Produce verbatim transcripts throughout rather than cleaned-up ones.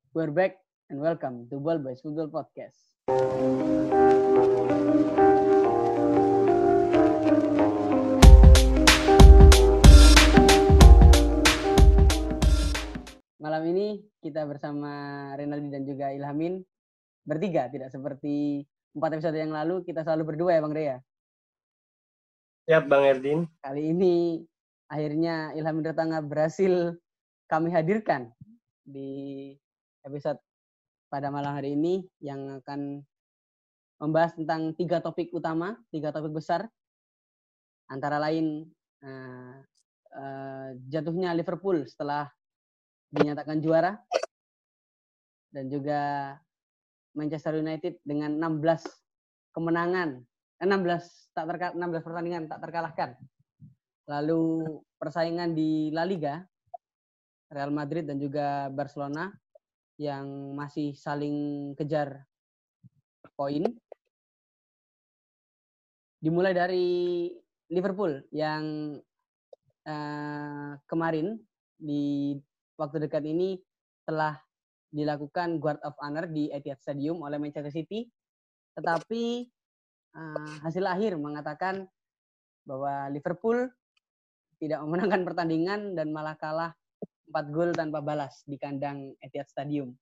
We're back and welcome to Ball Boys Football Podcast. Malam ini kita bersama Renaldi dan juga Ilhamin bertiga, tidak seperti empat episode yang lalu kita selalu berdua ya Bang Rea. Siap Bang Erdin. Kali ini akhirnya Ilhamin Retanga berhasil kami hadirkan di episode pada malam hari ini yang akan membahas tentang tiga topik utama, tiga topik besar, antara lain uh, uh, jatuhnya Liverpool setelah dinyatakan juara, dan juga Manchester United dengan enam belas kemenangan, enam belas tak terka, enam belas pertandingan tak terkalahkan. Lalu persaingan di La Liga, Real Madrid dan juga Barcelona yang masih saling kejar poin. Dimulai dari Liverpool yang uh, kemarin di waktu dekat ini telah dilakukan guard of honor di Etihad Stadium oleh Manchester City, tetapi uh, hasil akhir mengatakan bahwa Liverpool tidak memenangkan pertandingan dan malah kalah empat gol tanpa balas di kandang Etihad Stadium.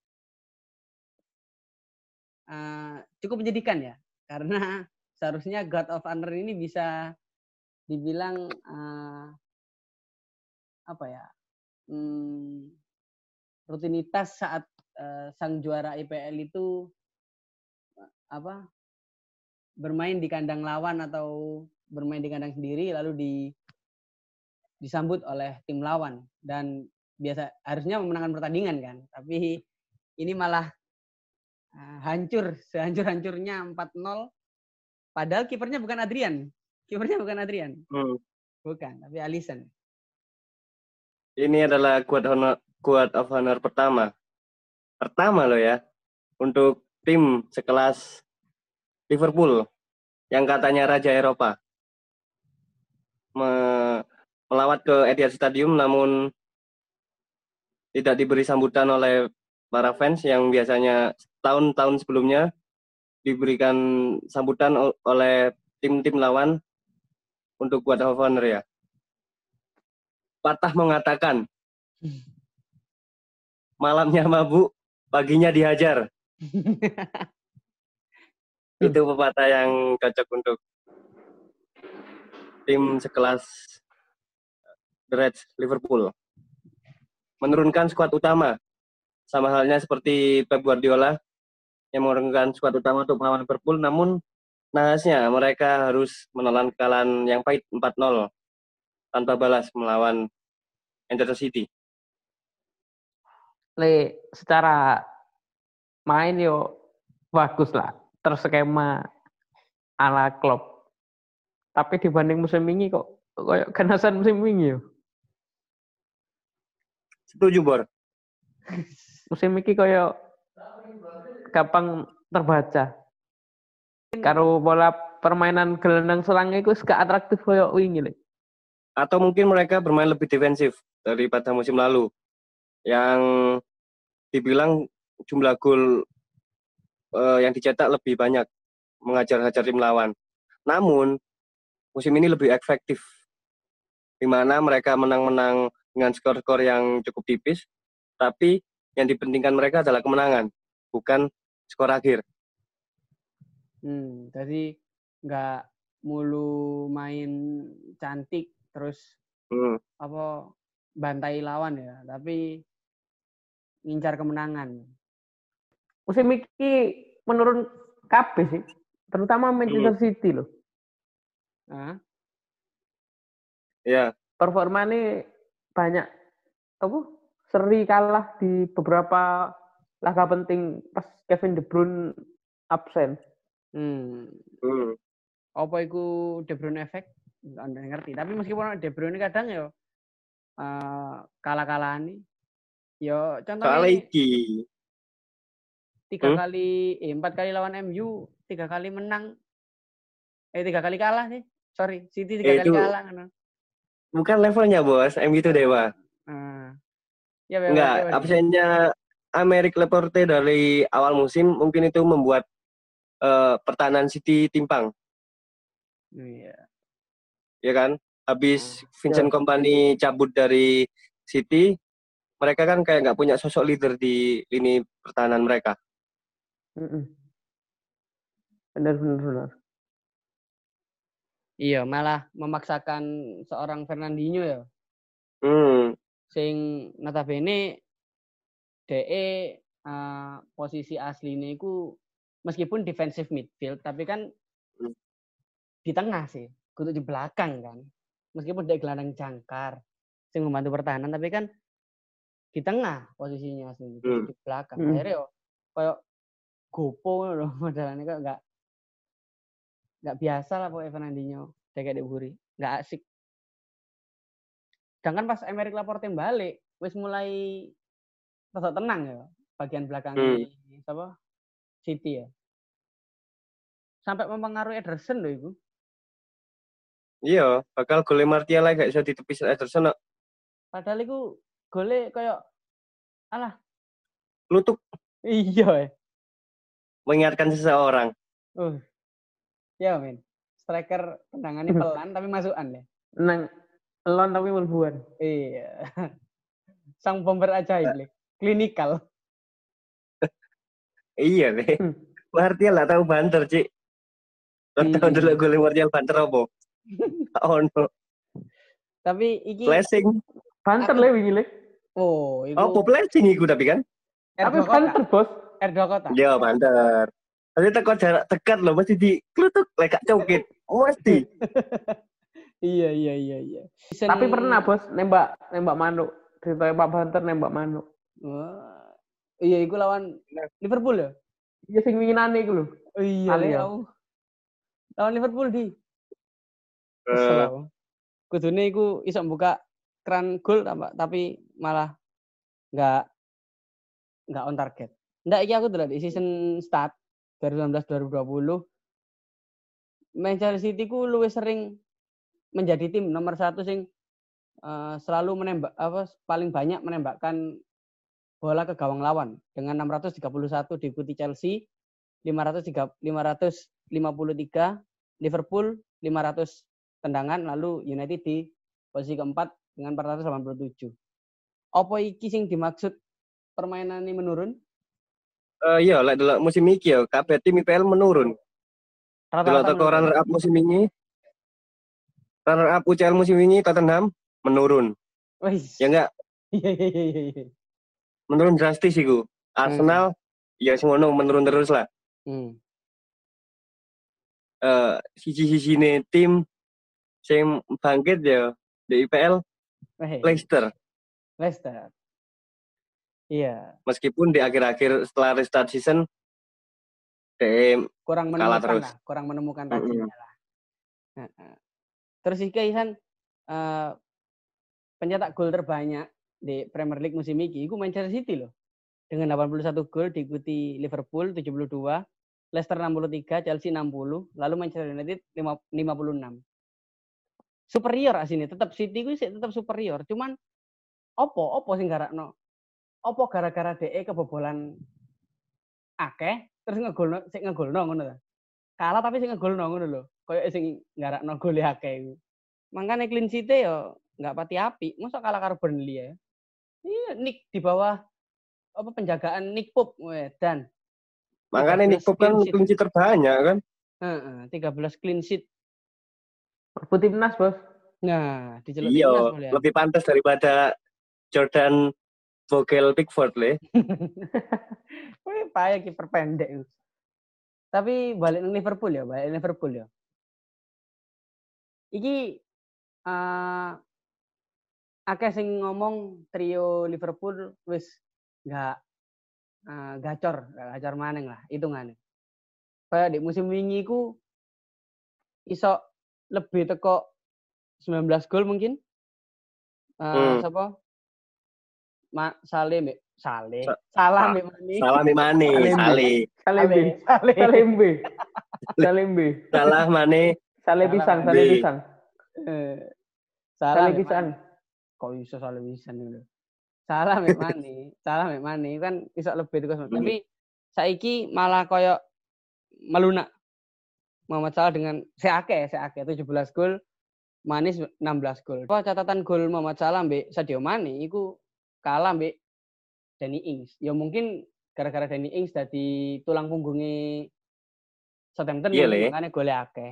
Uh, cukup menyedihkan ya, karena seharusnya guard of honor ini bisa dibilang uh, apa ya, hmm, rutinitas saat uh, sang juara I P L itu uh, apa bermain di kandang lawan atau bermain di kandang sendiri lalu di disambut oleh tim lawan, dan biasa harusnya memenangkan pertandingan kan, tapi ini malah uh, hancur sehancur-hancurnya empat nol, padahal kipernya bukan Adrian kipernya bukan Adrian hmm. bukan, tapi Alisson. Ini adalah quote honor, quote of honor pertama pertama loh ya untuk tim sekelas Liverpool yang katanya raja Eropa Me- melawat ke Etihad Stadium, namun tidak diberi sambutan oleh para fans yang biasanya tahun-tahun sebelumnya diberikan sambutan oleh tim-tim lawan untuk quote of honor ya. Patah mengatakan, malamnya mabuk, paginya dihajar. Itu pepatah yang cocok untuk tim sekelas The Reds Liverpool. Menurunkan skuad utama, sama halnya seperti Pep Guardiola yang menurunkan skuad utama untuk melawan Liverpool, namun nahasnya mereka harus menelan kekalahan yang pahit empat nol tanpa balas melawan Manchester City. Le, secara main yo bagus lah, terskema ala Klopp. Tapi dibanding musim ini kok kayak kenasan musim ini yo. Setuju, Bor. Musim ini kayak gampang terbaca. Karo bola permainan gelandang serang itu gak atraktif kayak wingi le. Atau mungkin mereka bermain lebih defensif daripada musim lalu, yang dibilang jumlah gol uh, yang dicetak lebih banyak, mengajar-hajar tim lawan. Namun musim ini lebih efektif, di mana mereka menang-menang dengan skor-skor yang cukup tipis, tapi yang dipentingkan mereka adalah kemenangan, bukan skor akhir. Hmm, jadi nggak mulu main cantik terus hmm. apa bantai lawan ya, tapi ngincar kemenangan. Musim ini menurun kabeh sih, terutama Manchester hmm. City loh. Nah. Ya. Performanya banyak apa? Seri kalah di beberapa laga penting pas Kevin De Bruyne absen. Hmm. hmm. Apa itu De Bruyne effect? Anda ngerti. Tapi meskipun De Bruyne kadang ya uh, kalah-kalahan nih. Yo contohnya iki. Tiga hmm? kali, eh, empat kali lawan M U, tiga kali menang, eh tiga kali kalah sih. Sorry, City tiga eh, kali kalah. Kan? Bukan levelnya bos, M U itu dewa. Hmm. Ya, enggak, absennya Aymeric Laporte dari awal musim mungkin itu membuat uh, pertahanan City timpang. Iya. Ya kan? Habis Hmm. Vincent Ya. Kompany cabut dari City, mereka kan kayak nggak punya sosok leader di lini pertahanan mereka. Mm-mm. Benar benar benar. Iya, malah memaksakan seorang Fernandinho ya. Hmm. Sing notabene DE uh, posisi asline iku meskipun defensive midfield tapi kan Hmm. di tengah sih, kudu di belakang kan. Meskipun dia gelandang jangkar sing membantu pertahanan tapi kan di tengah posisinya asli, Hmm. di belakang. Hmm. Akhirnya yo koyo gopo loh modelannya kok enggak enggak biasa lah pokoknya Fernandinho kayak buri, enggak asik. Sedangkan pas Aymeric Laporte balik, wis mulai rasa tenang ya bagian belakangnya Hmm. siapa? City ya. Sampai mempengaruhi Ederson loh itu. Iya, bakal gole Martial lagi gak bisa ditepis Ederson. No. Padahal itu gole kayak alah Lutuk. Iya. Mengingatkan seseorang. Uh. Ya men. Striker tendangannya pelan tapi masukan ya. Nang elon tapi melbuan. Iya. Sang bomber ajaib le. Klinikal. Iya nih. Martial lah tahu banter, Cik. Tahu dulu gole Martial banter apa? Oh no. Tapi iki flashing. Banter le wingi le. Oh, itu. Oh, flashing iku tapi kan. Tapi banter, Bos. R dua kota. Iya, banter. Tapi teko jarak dekat loh, mesti diklutuk lekak cokit. Mesti. Iya, iya, iya, iya. Tapi pernah, Bos, nembak nembak manuk. Ditembak banter nembak manuk. Wah. Iya, iku lawan Liverpool ya? Iya sing winginane iku lho. Oh, iya, ya. Lawan Liverpool di. Kesel aku. Kudune iku iso buka keran gol tapi malah enggak enggak on target. Ndak iki aku delok di season start dua ribu sembilan belas dua ribu dua puluh Manchester City ku luwih sering menjadi tim nomor satu sing uh, selalu menembak apa paling banyak menembakkan bola ke gawang lawan dengan enam ratus tiga puluh satu, diikuti Chelsea lima ratus lima puluh tiga, Liverpool lima ratus tendangan, lalu United di posisi keempat dengan empat ratus delapan puluh tujuh. Apa iki sing dimaksud permainan ini menurun? Uh, iya, lek delok musim iki ya, kabeh tim I P L menurun. Delok teko runner up musim ini, runner up U C L musim ini Tottenham menurun. Weiss. Ya enggak? Iya iya iya iya. Menurun drastis iku. Arsenal hmm. ya semono menurun terus lah. Hmm. Uh, sisi-sisine tim sing bangkit ya di I P L hey. Leicester. Leicester. Iya. Meskipun di akhir-akhir setelah restart season D M kurang kalah menemukan terus. lah, kurang menemukan tajinya mm-hmm. lah. Nah, terus iki Ihan uh, pencetak gol terbanyak di Premier League musim ini, itu Manchester City loh. Dengan delapan puluh satu gol, diikuti Liverpool tujuh puluh dua, Leicester enam puluh tiga, Chelsea enam puluh, lalu Manchester United lima puluh enam. Superior asine, tetap City ku tetap superior. Cuman opo opo sing garakno? Opo gara-gara D E kebobolan akeh terus ngegolno sik ngegolno ngono ta. Kalah tapi sing ngegolno ngono lho. Kayak sing garakno gole akeh iku. Mangkane clean sheet ya enggak pati apik. Mosok kalah karo Burnley ya. Iya, Nick di bawah apa penjagaan Nick Pope dan makanya Nick Pope kan clean sheet terbanyak kan. Heeh, tiga belas clean sheet. Perbut timnas, Bos. Nah, diceluk iya, timnas boleh. Lebih pantas daripada Jordan Vogel Pickford le. Wih, payah kiper pendek. Tapi balik ke Liverpool ya, balik Liverpool ya. Iki uh, akeh sing ngomong trio Liverpool wis enggak uh, gacor, enggak gacor maneng lah hitungane. Kayak di musim wingi ku iso lebih teko sembilan belas gol mungkin. Uh, hmm. Siapa? Ma Salim, Saleh. Salah Mbak Mane. Salah Mbak Mane, Saleh. Salembe. Salembe. Salembe. Salah Mane. Saleh pisang, Saleh pisang. Eh. Salah pisang. Kok iso Saleh pisang lho. Salah mek mani, salah mek mani kan iso lebih tugas. Hmm. Tapi saiki malah koyo melunak. Muhammad Salah dengan seake, seake tujuh belas gol, Manis enam belas gol. Wah, catatan gol Muhammad Salah mbek Sadio Mane iku kalah mbek Danny Ings. Ya mungkin gara-gara Danny Ings dadi tulang punggungnya Southampton Iya, mungkin Le. makanya gole akeh.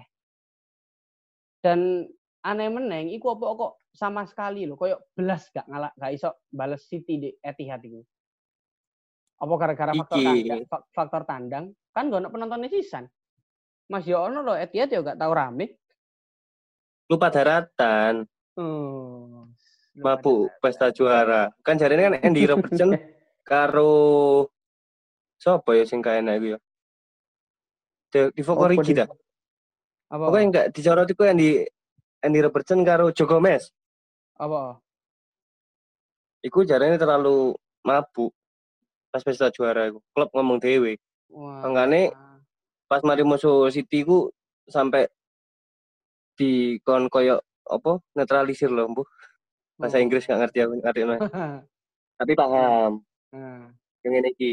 Dan aneh meneng iku apa kok sama sekali lho koyo belas gak ngalah gak iso bales City di Etihad iku. Apa gara-gara faktor Iki. tandang, faktor tandang kan gak ono penontonnya sisan. Mas yo ono lho Etihad yo gak tau rame. Lupa daratan. Oh. Mabuk pesta juara. Kan jarene kan Andy Robertson karo sapa ya sing kaenak iku ya. De Divock Apa Origi di- dah. Apa? Pokoknya enggak disorot iku Andy Andy Robertson karo Joe Gomez. Apa? Iku jarene terlalu mabuk pas pesta juara iku. Klub ngomong dhewe. Wah. Makane pas mari musuh City ku sampai di kon koyo apa netralisir loh, Bu. Bahasa Inggris gak ngerti aku artinya. Tapi paham. Nah. Yang ngene iki.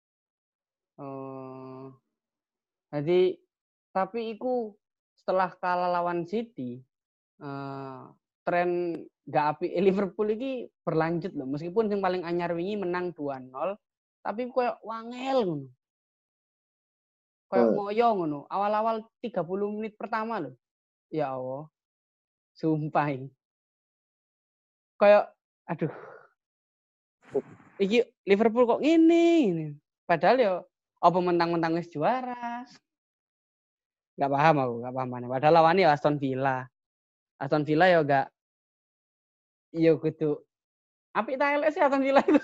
Oh. Jadi tapi iku setelah kalah lawan City, uh, tren gak api eh, Liverpool iki berlanjut loh. Meskipun yang paling anyar wingi menang dua nol, tapi koyo wangel ngono. Koyo Hmm. ngoyo ngono. Awal-awal tiga puluh menit pertama loh. Ya Allah. Sumpah. ini. Kayak aduh. Iki Liverpool kok ngene ngene. Padahal ya apa mentang-mentang wis juara. Gak paham aku, gak paham mana. Padahal lawannya ya Aston Villa. Aston Villa ya gak ya kudu apik ta elek sih Aston Villa itu.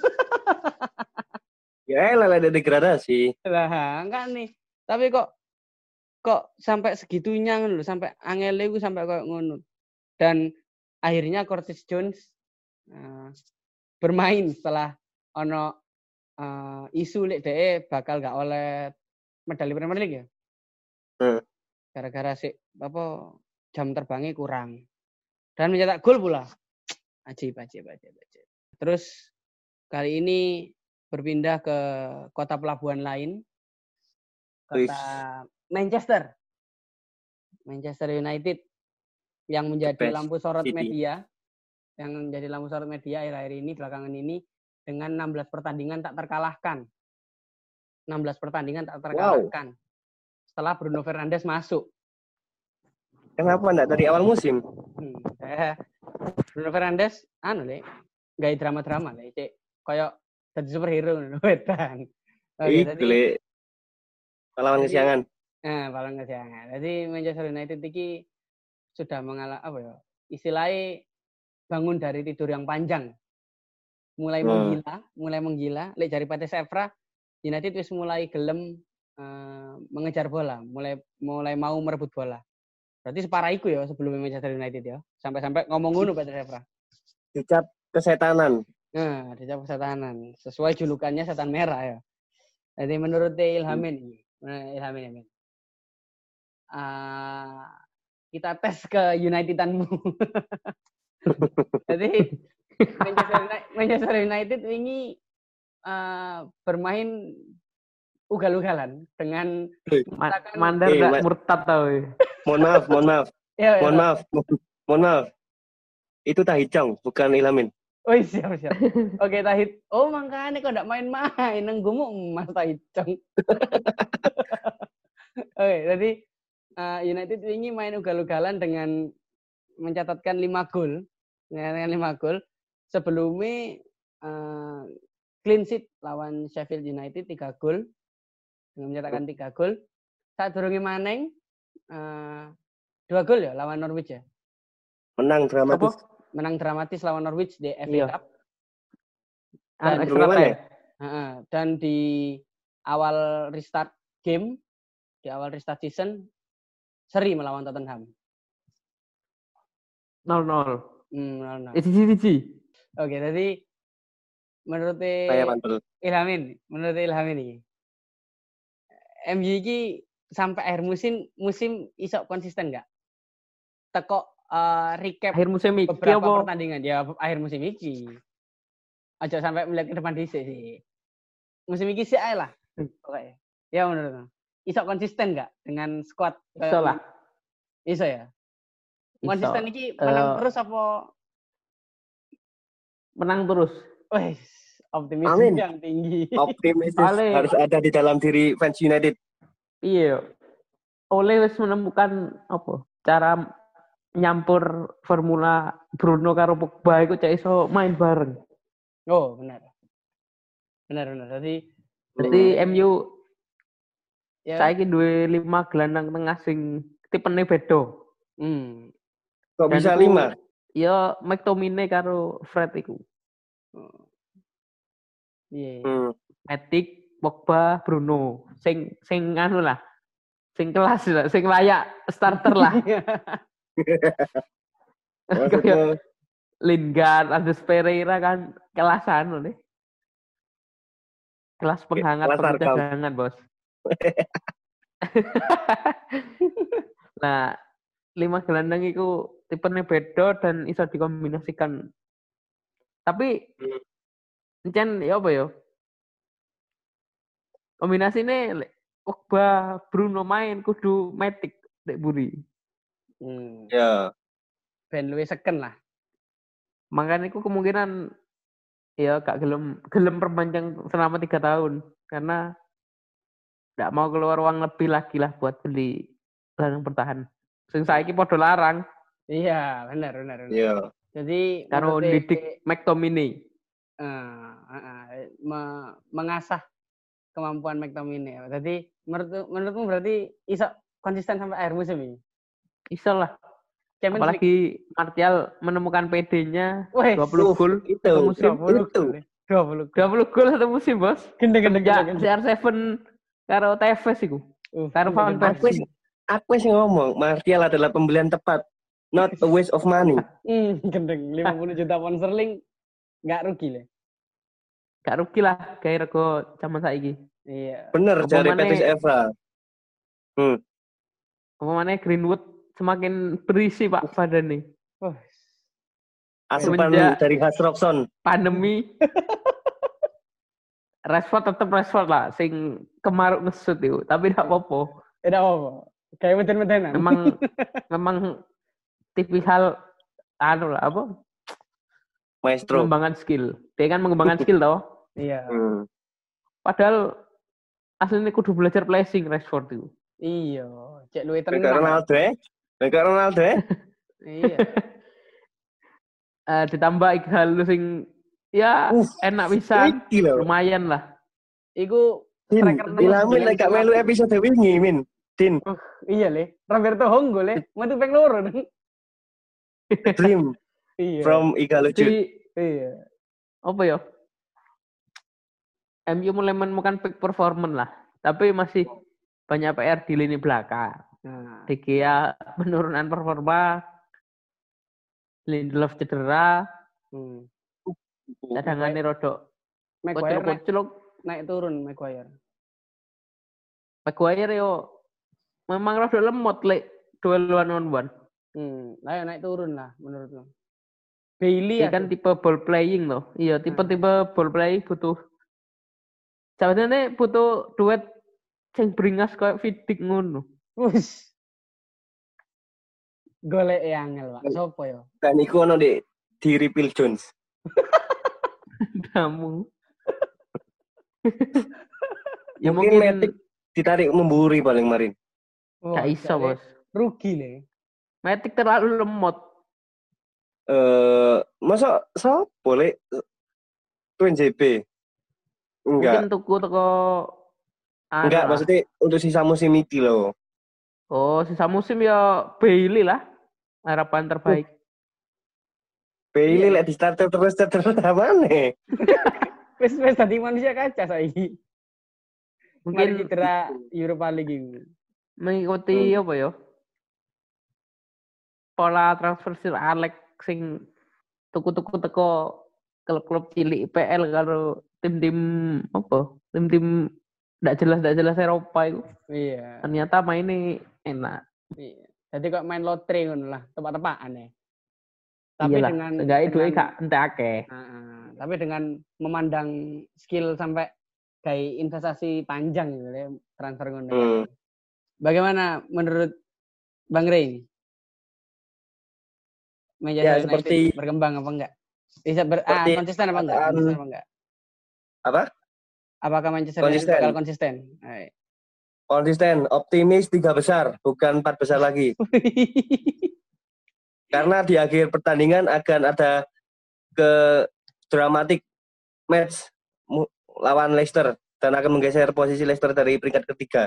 Ya elah ada degradasi. Lah, enggak nih. Tapi kok kok sampai segitunya ngono lho, sampai angele ku sampai koyo ngono. Dan akhirnya Curtis Jones uh, bermain setelah ono uh, isu lek dhek bakal gak oleh medali Premier League ya. Hmm. Gara-gara sih apa jam terbangnya kurang. Dan mencetak gol pula. Ajib, ajib, ajib, ajib. Terus kali ini berpindah ke kota pelabuhan lain. Kota Manchester. Manchester United yang menjadi lampu sorot City. media. Yang menjadi lampu sorot media akhir-akhir ini, belakangan ini dengan enam belas pertandingan tak terkalahkan. enam belas pertandingan tak terkalahkan. Wow. Setelah Bruno Fernandes masuk. Kenapa enggak dari awal musim? Hmm, eh, Bruno Fernandes anu le, gak drama-drama le, cek koyo dadi superhero ngono wedan. Oke, jadi pahlawan kesiangan. Eh, pahlawan kesiangan. Jadi Manchester United iki sudah mengalami apa ya? Istilahnya bangun dari tidur yang panjang. Mulai hmm. menggila, mulai menggila. Lek jari Pate Evra, United wis mulai gelem uh, mengejar bola, mulai mulai mau merebut bola. Berarti separah iku ya sebelum Manchester United ya. Sampai-sampai ngomong ngono Pate Evra. Dicap kesetanan. Nah, dicap kesetanan. Sesuai julukannya setan merah ya. Jadi menurut Ilhamin ini, hmm. Ilhamin Ilhamin. Uh, kita tes ke Unitedanmu. Jadi Manchester United, Manchester United ini uh, bermain ugal-ugalan dengan Ma- Mandar eh, gak ma- murtad tau. Mohon maaf, mohon maaf. ya, mohon ya. maaf. Mohon maaf. Itu Tahicong, bukan Ilhamin. Oh siap siap. Oke Tahit. Oh makanya kok ndak main-main nang gumuk Mas Tahicong. Oke, jadi uh, United ini main ugal-ugalan dengan mencatatkan lima gol. Dengan lima gol. Sebelumnya uh, clean sheet lawan Sheffield United tiga gol. Dengan mencatatkan tiga gol. Saat durunge maneng uh, dua gol ya lawan Norwich ya. Menang dramatis. Apa? Menang dramatis lawan Norwich di F A Iya. Cup. Dan, Dan, extra time. uh, dan di awal restart game, di awal restart season, seri melawan Tottenham. nol nol. Hmm, nol nol. Eh, cici, cici. Oke, jadi menurut Saya mantul. Ilhamin, menurut Ilhamin ini, M U ini sampai akhir musim musim iso konsisten nggak? Teko uh, recap Akhir musim iki beberapa apa? pertandingan ya akhir musim ini. aja sampai melihat ke depan dhisik sih. Musim iki sih ae lah. Oke. Ya menurut. Iso konsisten enggak dengan squad? Iso lah. Iso ya. Konsisten Iso. iki menang Uh, terus apa menang terus? Wes, optimisme Amin. yang tinggi. Optimis Ale, harus ada di dalam diri fans United. Iya. Oleh wis menemukan apa? Cara nyampur formula Bruno karo Pogba iku cek iso main bareng. Oh, benar. Benar benar. Jadi Jadi Hmm. M U ya. saiki duwe lima gelandang tengah sing tipene beda. Hmm. Kok Dan bisa iku, lima? Ya McTominay karo Fred iku. Oh. Iya. Yeah. Hmm. Matic, Pogba, Bruno. Sing sing anu lah. Sing kelas lah, sing layak starter lah. Maksudnya Lingard, Andres Pereira kan kelas anu nih. Kelas penghangat kelas perdagangan, Bos. Nah, lima gelandang itu tipenya beda dan bisa dikombinasikan. Tapi encen ya apa ya? Kombinasi ini Pogba, Bruno main kudu Matic dek buri. Hmm. ya. Ben luwih seken lah. Makanya itu kemungkinan ya gak gelem gelem perpanjang selama tiga tahun karena tidak mau keluar uang lebih lagi lah buat beli gelandang bertahan. Sing saiki padha larang. Iya, benar benar benar. Iya. Jadi karo didik McTominay. Uh, uh, uh, me- mengasah kemampuan McTominay. Jadi menurut menurutmu berarti iso konsisten sampai akhir musim ini? Iso lah. Champions Apalagi League. Martial menemukan P D-nya Weh, dua puluh gol itu satu musim. dua puluh itu. gol. dua puluh dua puluh gol satu musim, Bos. Gendeng gendeng Ya, gendeng. C R tujuh karo Tevez iku. Uh, Karo Van Aku Persie. aku sih ngomong Martial adalah pembelian tepat, not a waste of money. Hmm, gendeng lima puluh juta pound sterling enggak rugi lah. Gak rugi lah kayak rego zaman saiki. Iya. Bener dari Apa Petis maneh- Evra. Hmm. Apa mana Greenwood semakin berisi Pak badan nih. Oh, Asupan Semenjak- dari Has Robson. Pandemi. Rashford tetep Rashford lah, sing kemaruk ngesut itu, tapi tidak apa-apa. tidak apa-apa. Kayak meden-medenan. Memang memang tipikal anu lah apa? Maestro. Pengembangan skill. Dia kan mengembangkan skill toh. Iya. Hmm. Padahal aslinya kudu belajar placing Rashford itu. Iya, cek luwih Kayak tenang. Ronaldo ya? Kayak Ronaldo ya? Iya. Eh, ditambah Ighalo sing ya Uh, enak bisa, Iki loh. lumayan lah. Iku Din, striker nomor Ilamin sembilan lek gak melu episode wingi, Min. Din, Iya le, Roberto Honggo le, metu ping loro. dream Iya. from Igalo Jude. Jadi Iya. apa ya? M U mulai menemukan peak performance lah, tapi masih banyak P R di lini belakang. Nah, De Gea penurunan performa, Lindelof cedera, hmm. cadangannya rodok Maguire naik, koclok-koclok. naik turun Maguire. Maguire yo memang rodok lemot lek duel one on one. Hmm, nah, naik turun lah menurutku. Bailey Dia ya kan tipe ball playing loh. Iya, tipe-tipe ball playing butuh. Sebenarnya butuh duet sing beringas kayak Vidic ngono. Wus. Golek e angel, Pak. Sopo yo? Dan iku ono di diri Phil Jones. Kamu. Ya Mungkin mungkin Matic ditarik memburi paling marin. Oh, gak iso, Le. Bos. Rugi le. Matic terlalu lemot. Eh, masa so boleh Twin J B? Enggak. Mungkin tuku teko anu Enggak, lah. maksudnya untuk sisa musim ini loh. Oh, sisa musim ya Bailey lah. Harapan terbaik. Bailey Iya. lek di starter terus terus mana? Wes wes tadi manusia kaca saiki. Mari Mungkin cedera Europa League ini. mengikuti Hmm. apa ya? Pola transfer Sir Alex sing tuku-tuku teko klub-klub cilik I P L karo tim-tim apa? Tim-tim ndak jelas ndak jelas Eropa itu. Iya. Ternyata mainnya enak. Iya. Jadi kok main lotre ngono lah, tepak-tepakan ya. Tapi Iyalah, dengan seenggaknya duit dengan gak entek akeh. uh, tapi dengan memandang skill sampai kayak investasi panjang gitu ya, transfer ngono. Hmm. Bagaimana menurut Bang Rey? Manchester Ya United seperti berkembang apa enggak? Bisa ber, ah, seperti konsisten apa enggak? perkataan Konsisten apa enggak? apa? Apakah Manchester United Konsisten. bakal konsisten? Hai. Konsisten, optimis tiga besar, bukan empat besar lagi. Karena di akhir pertandingan akan ada ke dramatic match mu- lawan Leicester dan akan menggeser posisi Leicester dari peringkat ketiga.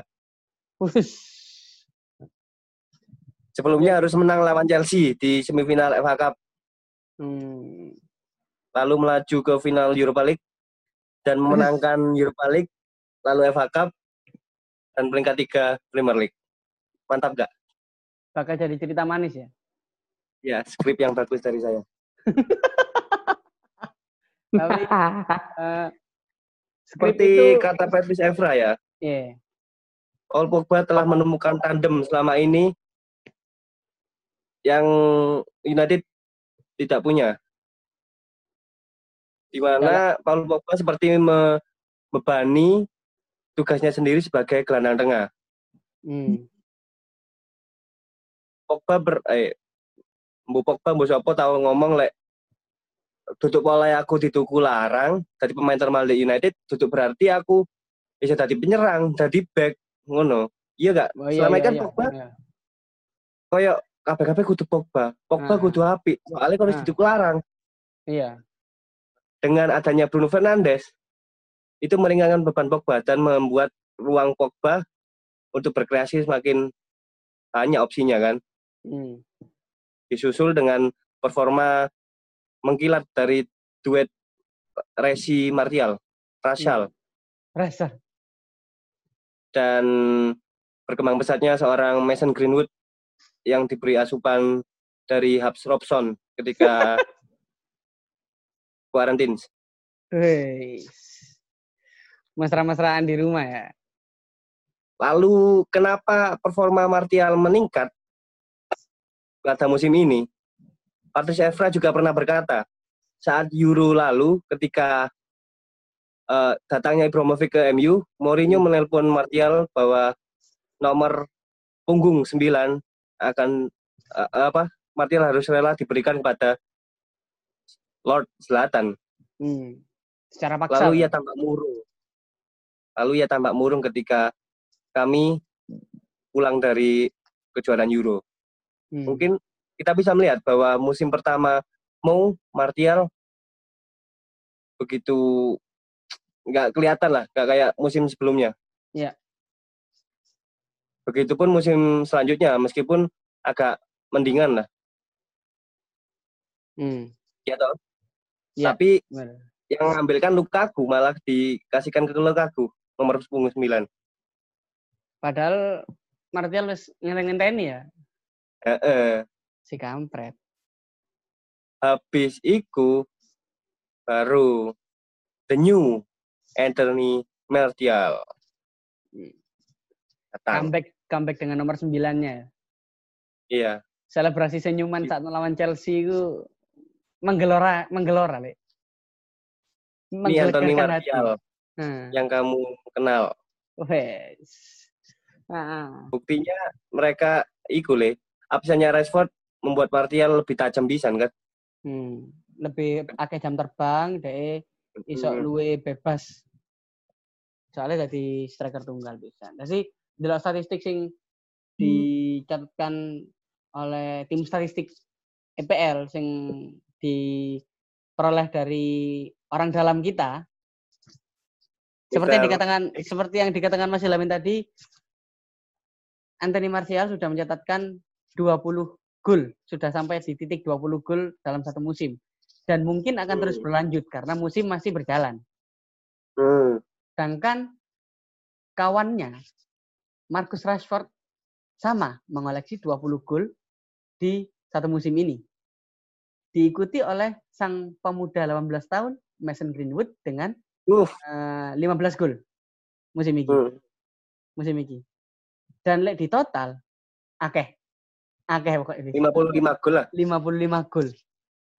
Sebelumnya harus menang lawan Chelsea di semifinal F A Cup, Hmm. lalu melaju ke final Europa League dan memenangkan Europa League, lalu F A Cup dan peringkat tiga Premier League. Mantap gak? Bakal jadi cerita manis ya? Ya, skrip yang bagus dari saya. Tapi uh, skrip Seperti itu, kata Patrice Evra ya, yeah. Paul Pogba telah menemukan tandem selama ini yang United tidak punya. Di mana Paul Pogba seperti membebani tugasnya sendiri sebagai gelandang tengah. Hmm. Pogba ber eh Mbu Pogba Mbu Sopo tahu ngomong lek duduk pola aku dituku larang dari pemain termal di United, duduk berarti aku bisa jadi penyerang, jadi back ngono. Iya gak? Oh, iya, Selama iya, kan iya, Pogba iya. koyo kabeh-kabeh kudu Pogba. Pogba Ah, kudu apik. Soalnya kalau ah. dituku larang. Iya. Dengan adanya Bruno Fernandes itu meringankan beban Pogba dan membuat ruang Pogba untuk berkreasi semakin banyak opsinya kan. Hmm. Disusul dengan performa mengkilat dari duet Resi Martial, Rashal, Rasa. dan berkembang pesatnya seorang Mason Greenwood yang diberi asupan dari Hubs Robson ketika quarantine. Wih. Mesra-mesraan di rumah ya. Lalu kenapa performa Martial meningkat pada musim ini? Patrice Evra juga pernah berkata saat Euro lalu ketika uh, datangnya Ibrahimovic ke M U, Mourinho menelpon Martial bahwa nomor punggung sembilan akan uh, apa? Martial harus rela diberikan kepada Lord Zlatan. Hmm. Secara paksa. Lalu ia tampak murung. Lalu ia tampak murung ketika kami pulang dari kejuaraan Euro. Hmm. Mungkin kita bisa melihat bahwa musim pertama Mo Martial begitu nggak kelihatan lah, nggak kayak musim sebelumnya. Iya. Begitupun musim selanjutnya, meskipun agak mendingan lah. Hmm. Ya toh. Ya, tapi benar. Yang mengambilkan Lukaku malah dikasihkan ke Lukaku nomor punggung sembilan. Padahal Martial wis ngenteni ya. Heeh. Si kampret. Habis iku baru the new Anthony Martial. Datang. Comeback comeback dengan nomor sembilan-nya. Iya. Selebrasi senyuman saat melawan Chelsea itu menggelora menggelora, Le. Ini Anthony Martial hmm. yang kamu kenal. Wes. Nah. Buktinya mereka iku Le. Absennya Rashford membuat Martial lebih tajam pisan kan. Hmm. Lebih akeh jam terbang, deh iso hmm. luwe bebas. Soalnya jadi striker tunggal bisa. Jadi dalam statistik sing dicatatkan oleh tim statistik E P L sing diperoleh dari orang dalam kita, seperti yang dikatakan seperti yang dikatakan Mas Ilamin tadi, Anthony Martial sudah mencatatkan dua puluh gol, sudah sampai di titik dua puluh gol dalam satu musim, dan mungkin akan hmm. terus berlanjut karena musim masih berjalan. Hmm. Sedangkan kawannya Marcus Rashford sama mengoleksi dua puluh gol di satu musim ini. Diikuti oleh sang pemuda delapan belas tahun Mason Greenwood dengan uh. uh, lima belas gol musim ini. Uh. Musim ini. Dan lek di total akeh. Akeh pokoknya ini. lima puluh lima gol lah. lima puluh lima gol.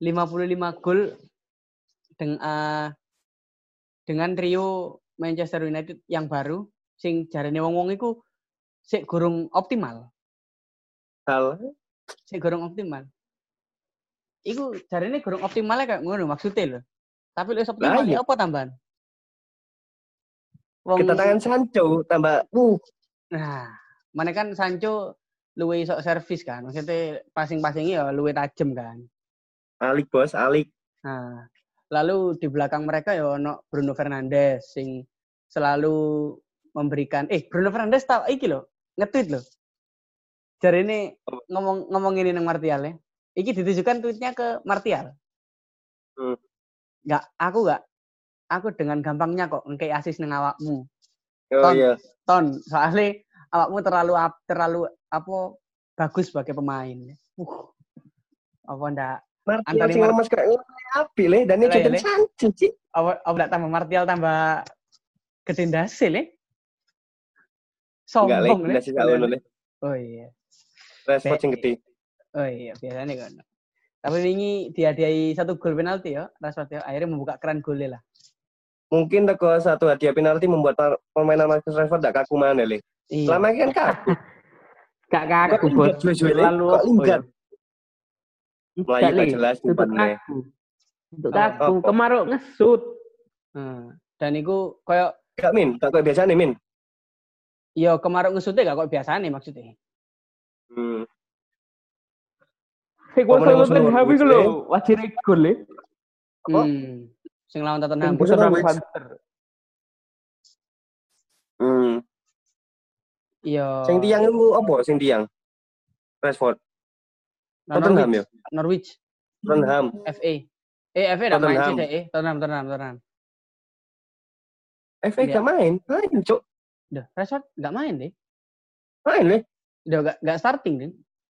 lima puluh lima gol dengan uh, dengan trio Manchester United yang baru sing jarene wong-wong iku sik gurung optimal. Hal Sik gurung optimal. Iku jarene gurung optimalnya kayak ngono maksudnya lho. Tapi wis optimal ya apa tambahan? Wong kedatangan Sancho tambah uh. Nah, mana kan Sancho luwe iso servis kan. Maksudnya passing-passingnya ya luwe tajem kan. Alik bos, alik. Nah, lalu di belakang mereka ya ono Bruno Fernandes sing selalu memberikan eh Bruno Fernandes tau iki lho, nge-tweet lho. Jarine ngomong ngomong ini nang Martial ya. Iki ditujukan tweetnya ke Martial. Hmm. Enggak, aku enggak. Aku dengan gampangnya kok ngekei asis nang awakmu. Oh Ton, iya. Ton, soalnya awakmu terlalu terlalu apa bagus sebagai pemain. Uh. Apa ndak? Martial sing lemes kayak api le dan ini jadi Sancho sih. Apa apa ndak tambah Martial tambah gede ndase le? Sombong le. Oh iya. Rashford sing gede. Oh iya, biasanya kan. Tapi ini dihadiahi satu gol penalti ya, Rashford ya. Akhirnya membuka keran golnya lah. Mungkin teko satu hadiah penalti membuat permainan Marcus Rashford tidak kaku mana le. Iya. Selama ini kan kaku. Gak kaku bos. Lalu linggat. Melayu gak jelas umpannya. Untuk kaku, kemaruk ngesut. Hmm. Dan itu kayak gak min, gak kayak biasa nih min. Iya, kemaruk ngesutnya gak kayak biasa nih maksudnya. Hmm. Hei, gua selalu Tottenham itu loh, wajib gol ya. Apa? Hmm. Sing lawan Tottenham. Tottenham Panther. Hmm. Iya. Sing tiang itu apa? Sing tiang? Rashford. Tottenham ya? Norwich. Tottenham. F A. Eh, F A dah main sih deh. Eh, Tottenham, Tottenham, Tottenham. F A gak main? Main, Cuk. Udah, Rashford gak main deh. Main, Le. Udah gak, gak starting deh.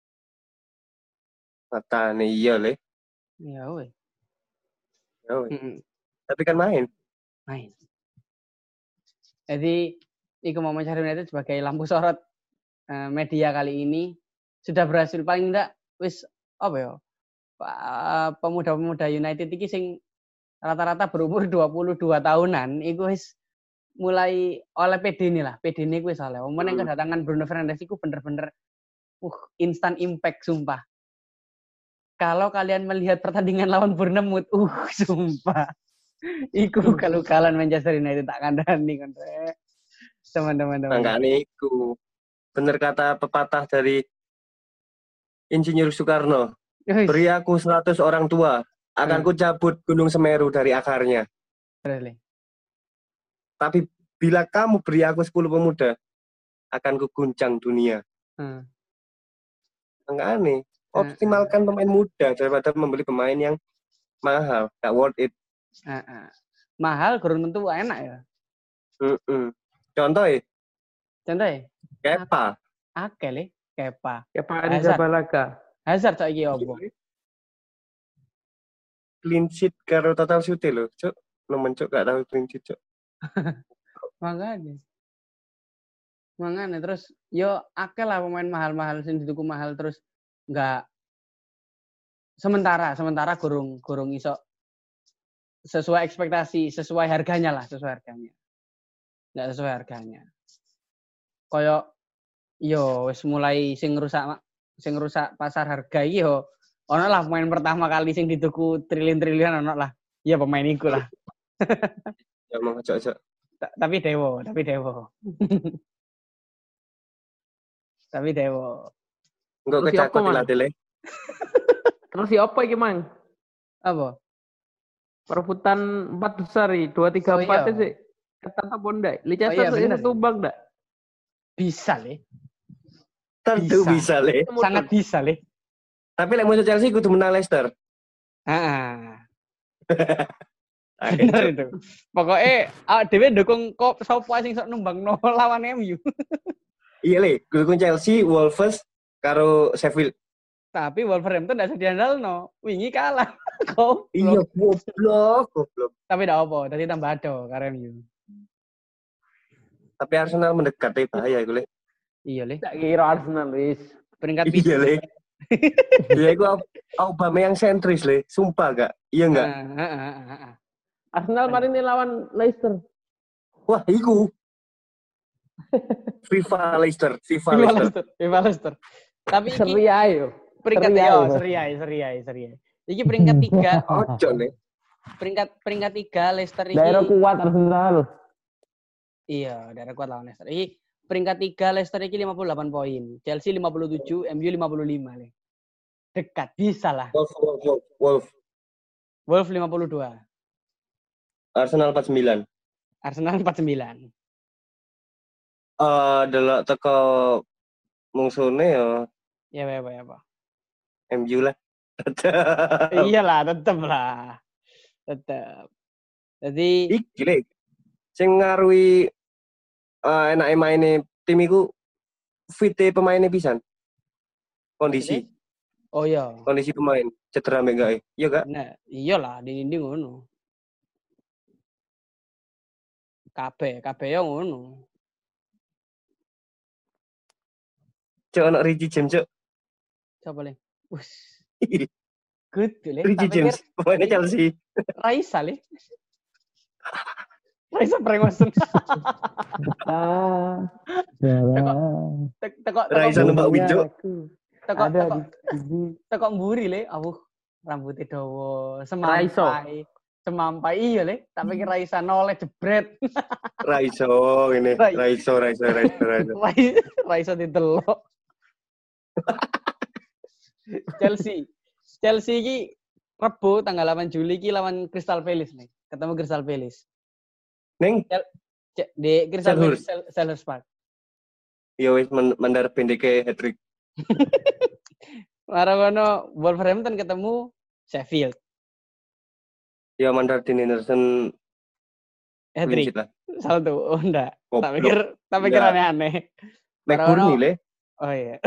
Mata nih, iya, Le. Iya, weh. Ya, weh. Tapi kan main. Main. Jadi, Iku Manchester United sebagai lampu sorot uh, media kali ini sudah berhasil paling enggak wis apa ya? Pemuda-pemuda United iki sing rata-rata berumur dua puluh dua tahunan iku wis mulai oleh P D ini lah. P D ini wis oleh. Omong yang kedatangan Bruno Fernandes iku bener-bener uh instant impact sumpah. Kalau kalian melihat pertandingan lawan Bournemouth, uh sumpah. Iku kalau kalian Manchester United tak kandani kan. Teman-teman. Enggak niku. Bener kata pepatah dari Insinyur Soekarno. Beri aku seratus orang tua, akan ku cabut Gunung Semeru dari akarnya. Really? Tapi bila kamu beri aku sepuluh pemuda, akan ku guncang dunia. Hmm. Enggak aneh. Optimalkan hmm. pemain muda daripada membeli pemain yang mahal. Gak worth it. Uh, uh. Mahal kurang tentu enak ya. Mm-mm. Contoh ya? Contoh ya? Kepa. Akeh le, Kepa. Kepa Arrizabalaga. Hazard saiki opo? Clean sheet karo total shoot lho, Cuk. Nemen Cuk gak tahu clean sheet, Cuk. Makanya. Makanya terus yo akeh lah pemain mahal-mahal sing dituku mahal terus enggak sementara sementara gurung gurung iso sesuai ekspektasi, sesuai harganya lah, sesuai harganya. Enggak sesuai harganya. Koyo yo wis mulai sing rusak sing rusak pasar harga iki yo ono lah pemain pertama kali sing dituku triliun-triliun ono lah. Iya pemain iku lah. Ya mau cocok. Tapi Dewo, tapi Dewo. Tapi Dewo. Engko kecakot dilatih. Terus siapa iki, Mang? Apa? Perebutan empat besar iki, dua tiga empat sih. Ketat apa ndak? Leicester oh, iya, tumbang ndak? Bisa, Le. Tentu bisa, Le. Sangat bisa, Le. Tapi lek musuh Chelsea kudu menang Leicester. Heeh. Bener itu. Pokoknya awak dhewe ndukung kok sapa sing sok numbangno lawan M U. Iya, Le. Dukung Chelsea, Wolves karo Sheffield. Tapi Wolverhampton ndak sedih andalno. Wingi kalah. Kok? Iya, goblok, goblok. Tapi ndak apa, dadi tambah ado karo M U. Tapi Arsenal mendekat deh bahaya iku, Le. Iya, Le. Tak kira Arsenal wis peringkat pitu. Iya, Le. Dia itu Aubameyang sentris le, sumpah gak? Iya enggak? Ah, ah, ah, ah, ah. Arsenal kemarin ini lawan Leicester. Wah, iku. FIFA Leicester, FIFA Viva Leicester. Leicester, Viva Leicester. Tapi iki Seri ae yo. peringkat Seri yo, ae, Mas. seri ae, seri ae, seri ae. Iki peringkat tiga, Ojo nih. peringkat peringkat tiga Leicester iki. Daerah kuat Arsenal. Iya, daerah kuat lawan Leicester. Iki peringkat tiga Leicester iki lima puluh delapan poin, Chelsea lima puluh tujuh, M U lima puluh lima le. Dekat, bisa lah. Wolf, Wolf, Wolf, Wolf. Wolf lima puluh dua, Arsenal empat puluh sembilan. Arsenal empat puluh sembilan. Eh, adalah teko mungsune ya Ya, ya, ya, apa? M U lah. Iyalah, tetep lah. Tetep. Jadi Iki le. Sing ngaruhi uh, enake maine tim iku fite pemainnya pisan. Kondisi, oh iya. kondisi pemain cedera mek gak? Iya gak? Nah, iyalah dinding ngono. Kabeh, kabeh yo ngono. Cuk ono Richie James cuk. Coba le. Wus. Good le. Richie James pemainnya Chelsea. Raisa le. Raisa Premosen. Ah. Tek teko Raisa numpak winjo. Teko Ada teko di teko mburi le. Awuh, rambutnya dawa, Raiso. semampai. Semampai iya le, tak pikir Raisa noleh jebret. Raiso ini, Rai- Raiso, Raiso, Raiso, Raiso. Rai- Raisa ditelok. Chelsea. Chelsea iki Rebo tanggal delapan Juli iki lawan Crystal Palace nih. Ketemu Crystal Palace. Neng, C- di Crystal Selhurst. Palace Sel- Selhurst Park. ya wis men- mandar pendeke hat-trick. Marono Wolverhampton ketemu Sheffield. Ya mandar Dean Henderson Hat-trick. clean sheet lah. Saldo. Oh enggak. Tak Goblok. pikir tak pikir Enggak. aneh-aneh. McBurney le. Oh iya.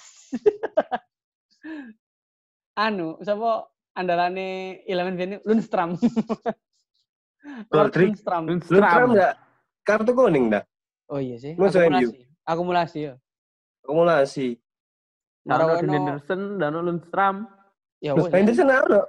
Anu, sapa andalane Eleven Venue Lundstram. Lord Goldrick. Lundstram. Lundstram enggak kartu kuning dah. Oh iya sih. Masa M U? Akumulasi. Akumulasi ya. Akumulasi. Dano Marono- Henderson, Dano Lundstram, Ya Terus wes. Henderson ono.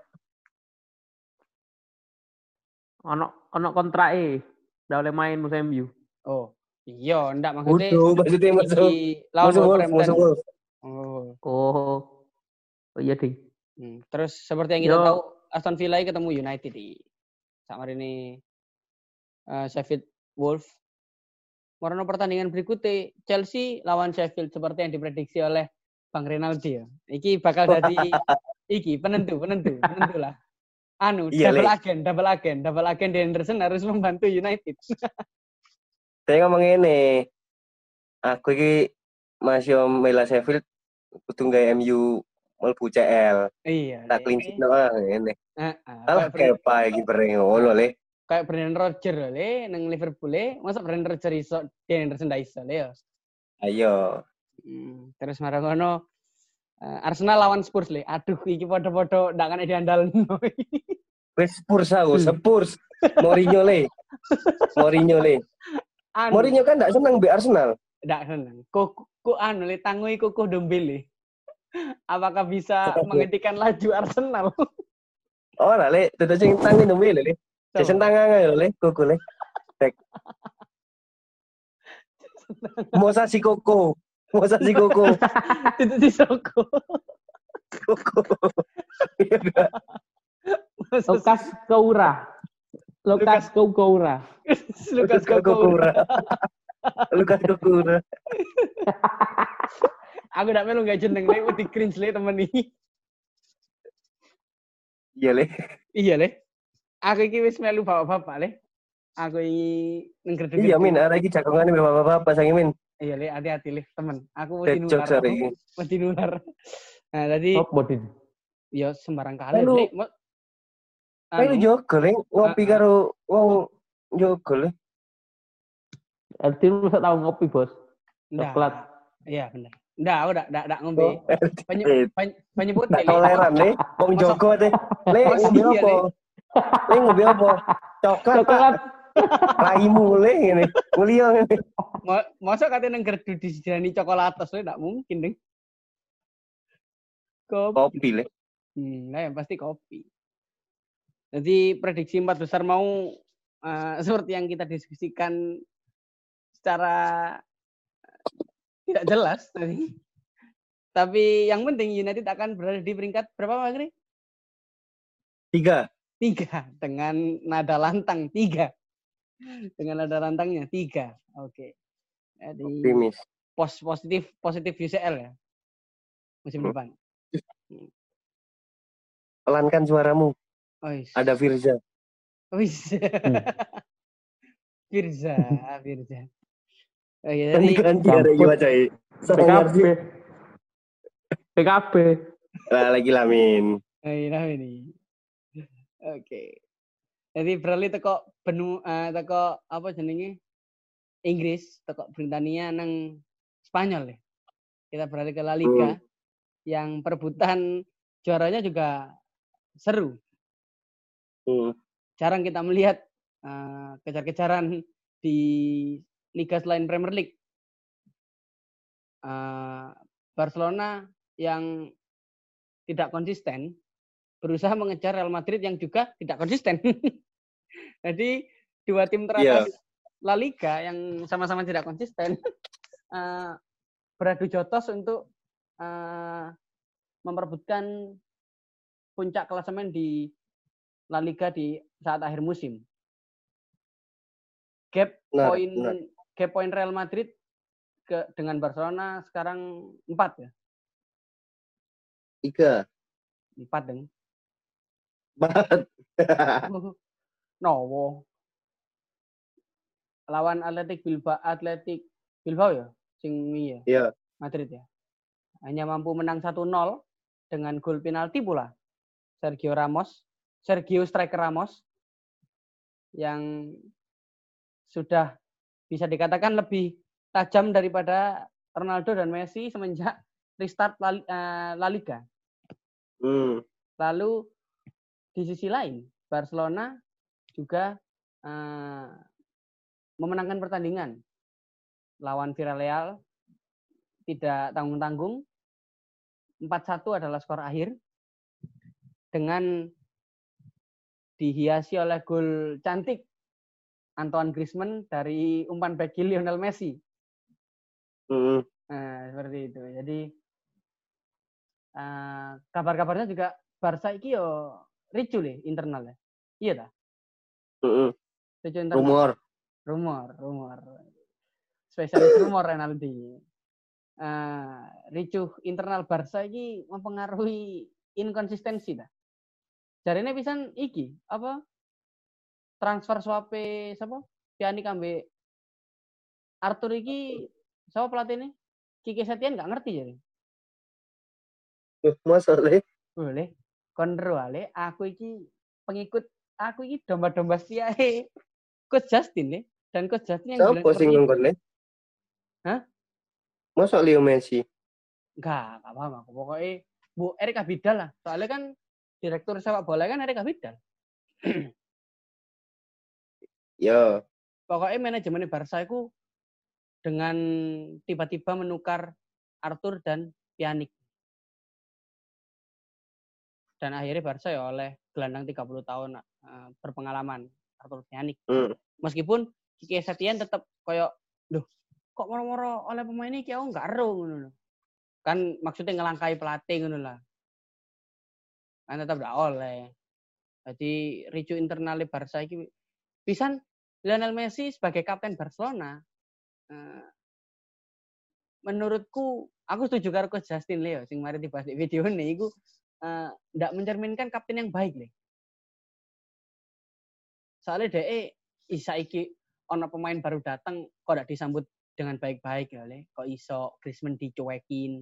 ono ono kontrake, ndak oleh main musim M U. Oh. Iya, ndak maksudnya. Udah, maksudnya masuk. iki lawan Masuk Wolf, Wolverhampton. masuk Wolf. Oh. Oh. Oh iya ding. Hmm. Terus seperti yang kita Yo. tahu Aston Villa ketemu United di sama ini uh, Sheffield Wolf. Warna pertandingan berikutnya Chelsea lawan Sheffield seperti yang diprediksi oleh Bang Renaldi ya. Iki bakal jadi iki penentu, penentu, penentu lah. Anu, Iya, double Le. agen, double agen, double agen di Henderson harus membantu United. Saya ngomong ini, aku ini masih mela Sheffield, kudu gawe M U mlebu C L. Iya. Tak clean sheet no ngene. Heeh. Alah kepa iki bareng ngono le. Kayak Brendan Rodgers le nang Liverpool le, masa Brendan Rodgers iso di Henderson ndak iso le ya. Ayo. Hmm, terus marang ngono uh, Arsenal lawan Spurs le. Aduh iki padha-padha ndak kene diandalno. Wes Spurs aku, Spurs. Mourinho le. Mourinho le. Anu, Mourinho kan ndak seneng mbek Arsenal. ndak seneng. Kok kok anu le tangui kukuh Dombele. Apakah bisa menghentikan laju Arsenal? Ora le, tetes sing tangi nembe le. Jason tangan ae le, kuku le. Tek. Mosa si Koko. Mosa si Koko. Itu di Soko. Koko. Lukas Koura. Lukas Koura. Lukas Koko. Kokura. Lukas Kokura. Aku ndak melu gak jeneng le, wedi cringe le temen iki. Iya le. Iya le. Aku iki wis melu bapak-bapak le. Aku iki nengger Iya min, arek iki jagongane bapak-bapak sange min. Iya le, hati-hati le temen. Aku wedi Cocok nular. sare iki. Wedi nular. Nah, tadi Sopo din? ya sembarang kali Lalu- le. Mo- Kayak lu anu, jogo le, ngopi Ah, karo wong jogo le. Arti lu bisa tahu ngopi, Bos. ndak. Coklat. Iya bener. Ndak, aku ndak ndak ndak ngombe. Penyu, Eh, pen- penyebut ndak le. toleran le, wong jogo teh. Le Masa ngombe iya, apa? Le ngombe apa? Coklat. Coklat. Raimu le ngene. Mulia ngene. Mo- Masa katanya nengger di disediani coklatos le ndak mungkin ding. Kopi. Kopi le. Hmm, nah, yang pasti kopi. Jadi prediksi empat besar mau uh, seperti yang kita diskusikan secara tidak jelas tadi. Tapi yang penting United akan berada di peringkat berapa Mas Gri? Tiga. Tiga dengan nada lantang tiga. Dengan nada lantangnya tiga. Oke. Jadi Optimis. pos positif positif U C L ya musim Hmm. depan. Pelankan suaramu. Oh, is. Ada Firza. Oh, is. Hmm. Firza, Firza. Oh, ya, jadi Ganti ada Iwa Cai. P K B. P K B. Lah lagi Lamin. oh, iya, ini. Oke. Jadi beralih teko benu uh, teko apa jenenge Inggris, teko Britania nang Spanyol ya. Kita beralih ke La Liga. Hmm. Yang perebutan juaranya juga seru. Hmm. Jarang kita melihat uh, kejar-kejaran di liga selain Premier League. Uh, Barcelona yang tidak konsisten berusaha mengejar Real Madrid yang juga tidak konsisten. Jadi dua tim teratas yeah. La Liga yang sama-sama tidak konsisten uh, beradu jotos untuk uh, memperebutkan puncak klasemen di La Liga di saat akhir musim. Gap nah, poin nah. gap poin Real Madrid ke dengan Barcelona sekarang empat ya. Tiga. Empat deng. Empat. Nowo. Lawan Athletic Bilbao, Athletic Bilbao ya, sing ya. Iya. Madrid ya. Hanya mampu menang satu nol dengan gol penalti pula. Sergio Ramos, Sergio Striker Ramos yang sudah bisa dikatakan lebih tajam daripada Ronaldo dan Messi semenjak restart La, uh, La Liga. Hmm. Lalu di sisi lain Barcelona juga uh, memenangkan pertandingan lawan Villarreal tidak tanggung-tanggung. empat satu adalah skor akhir dengan dihiasi oleh gol cantik Antoine Griezmann dari umpan bagi Lionel Messi. Hmm. Nah, seperti itu. Jadi uh, kabar-kabarnya juga Barca iki yo ricu le internal ya. Iya dah. Hmm. Ricu internal. Rumor. Rumor, rumor. Spesialis rumor Renaldi. Uh, ricuh internal Barca iki mempengaruhi inkonsistensi dah. Jarine pisan iki apa transfer swape sapa? Pjanic ambek Arthur iki sapa pelatihnya? Kiki Setien enggak ngerti jadi. Masa le? Boleh. Konro ale aku iki pengikut aku iki domba-domba setiae Coach Justin le dan Coach Justin yang bilang seperti itu. Le? Hah? Masa Leo Messi? Enggak, enggak paham aku. Pokoknya Bu Erik Abidal lah. Soalnya kan direktur sepak bola kan Erik Abidal. Ya. Pokoknya manajemen Barca itu dengan tiba-tiba menukar Arthur dan Pjanic. Dan akhirnya Barca ya oleh gelandang tiga puluh tahun uh, berpengalaman Arthur Pjanic. Hmm. Meskipun Kiki Setien tetap koyo loh kok moro-moro oleh pemain ini aku enggak ero ngono. Kan maksudnya ngelangkai pelatih ngono lah. Kan tetap enggak oleh. Jadi ricu internal Barca iki pisan Lionel Messi sebagai kapten Barcelona uh, menurutku aku setuju karo Coach Justin Leo sing mari dibahas di video ini iku uh, ndak mencerminkan kapten yang baik le. Soalnya dhek saiki ana pemain baru datang kok ndak disambut dengan baik-baik ya le. Kok iso Griezmann dicuekin.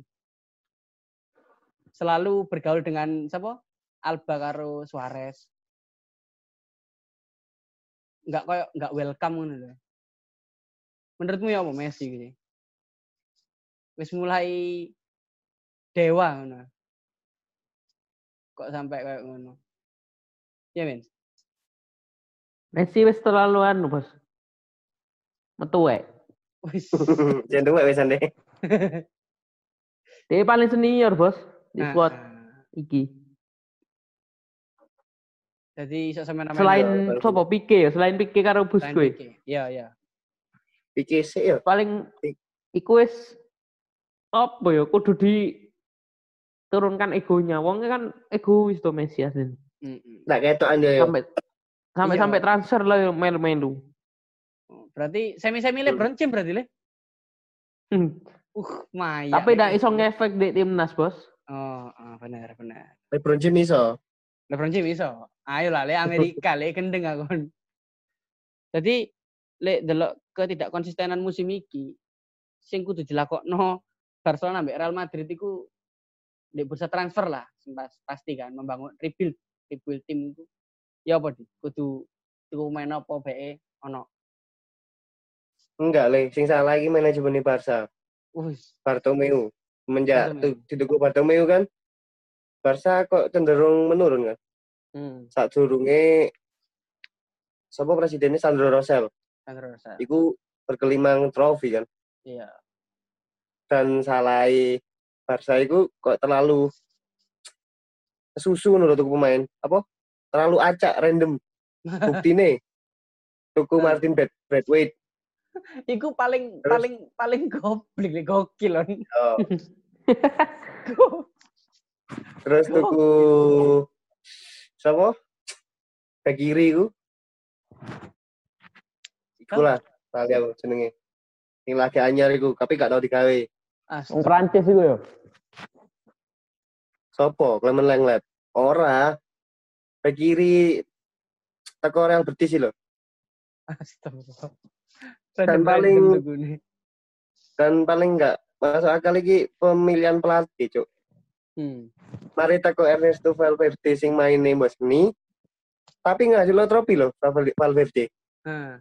Selalu bergaul dengan siapa? Alba karo Suarez. Enggak kayak enggak welcome ngono lho. Menurutmu ya apa Messi gitu? Wis mulai dewa ngono. Kok sampai kayak ngono? Ya, Men. Messi wis terlalu anu, Bos. Metuwek. Wis. Jangan tuwek wisan deh. Dia paling senior, Bos, di squad. iki. Jadi iso sama nama Selain sopo Pique ya, selain Pique karo Busquets. Iya, iya. Pique sih ya. Paling iku wis apa ya kudu diturunkan egonya. Wong kan egois to Messi asli. Heeh. Ndak ketokan yo. Sampai sampai Iya. sampai transfer lah melu-melu. Berarti semi-semi LeBron James berarti le? Hmm. Uh, maya. Tapi ndak iso ngefek di timnas, Bos. Oh, oh, benar, benar. LeBron James iso. LeBron James iso. Ayo lah, le Amerika, le gendeng aku. Jadi, le delok ketidak konsistenan musim iki, sing kudu dilakokno Barcelona ambek Real Madrid iku ndek bursa transfer lah, pasti kan membangun rebuild, rebuild tim itu. Ya apa di? Kudu tuku main apa bae ono. Enggak, Le. Sing salah iki manajemen Barca. Wis, Bartomeu. Semenjak Bartomeu. dituku Bartomeu kan Barca kok cenderung menurun kan. hmm, Saat durunge sapa presidennya Sandro Rosell. Sandro Rosell. Iku berkelimang trofi kan. Iya. Dan salai Barca iku kok terlalu susu menurut tuku pemain. Apa? Terlalu acak random. Buktine tuku Martin Brad Bradwaite. Iku paling Terus? paling paling goblok, le gokil on. Oh. Terus tuku sapa? Bek kiri iku. Iku lah, tali aku jenenge. Sing lagi anyar iku, tapi gak tau digawe. Wong Prancis iku ya. Sopo? Clement Lenglet. Ora. Bek kiri teko Real Betis lho. Astagfirullah. Dan paling dan paling enggak masuk akal iki pemilihan pelatih, Cuk. Hmm. Mari teko Ernesto Valverde sing maine mbok seni. Tapi nggak hasil trofi loh Valverde. Heeh.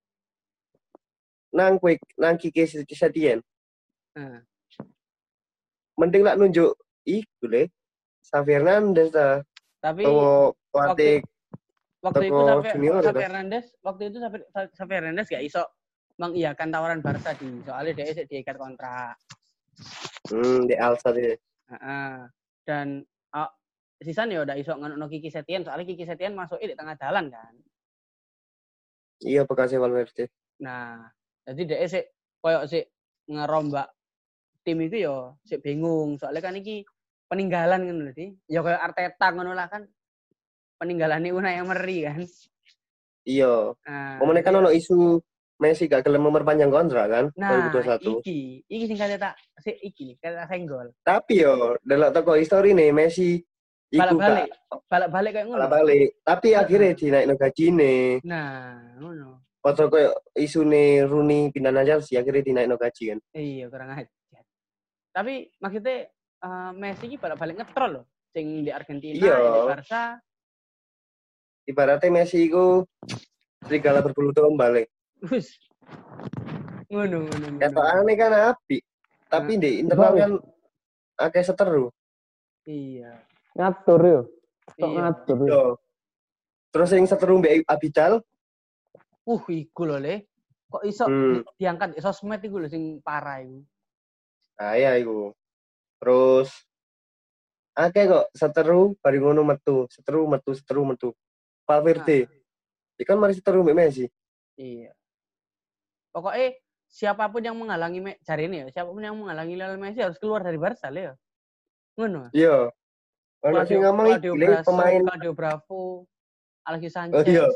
Nang quick nang Kike Setien. Heeh. Mending lah nunjuk iku le. Xavi Hernandez ta. Tapi Atau pelatih waktu itu toko Xavi junior Xavi itu. Hernandez, waktu itu Xavi Xavi Hernandez gak iso mengiyakan tawaran Barca di soalnya dia isih diikat kontrak. Hmm, di Alsa dia. Heeh. Dan oh, sisan ya udah iso ngono Kiki Setien soalnya Kiki Setien masuk di tengah jalan kan. Iya bekasnya Valverde. Nah, jadi dia sih koyo sih ngerombak tim itu yo sih bingung soalnya kan iki peninggalan kan lho di. Ya koyo Arteta ngono lah kan. Peninggalan Unai Emery kan. Iya. Nah, Omone kan ono isu Messi gak gelem memperpanjang kontrak kan nah, dua ribu dua puluh satu. iki, iki sing kate tak sik iki kate tak senggol. Tapi yo delok toko histori nih Messi iku Balik-balik, gak balik-balik kayak ngono. balik. Tapi akhirnya dinaikno gajine. Nah, ngono. Foto koyo isune Rooney pindah nang Chelsea akhirnya dinaikno gaji kan. Iya, kurang ajar. Tapi maksudnya uh, Messi iki balik-balik ngetrol loh. Sing di Argentina, Iya. di Barca. Ibaratnya Messi iku serigala berbulu domba le. Wis. Ngono, ngono, ngono. Ketokane kan apik. Tapi di internal kan akeh seteru. Iya. Ngatur yo. Tok Iya. ngatur. Yo. Terus yang seteru mbek Abidal, Uh, iku lho le. Kok iso Hmm. di- diangkat di sosmed iku lho sing parah iku. nah ya iku. Terus akeh kok seteru bari ngono metu, seteru metu, seteru metu. Valverde. Ikan mari seteru mbek Messi. Iya. Pokoknya siapapun yang menghalangi Me- cari ini ya, siapapun yang menghalangi Lionel Messi harus keluar dari Barca le ya. Ngono. Iya. Ono sing ngomong Claudio iki le, Bravo, pemain Claudio Bravo, Alexis Oh, Sanchez. iya.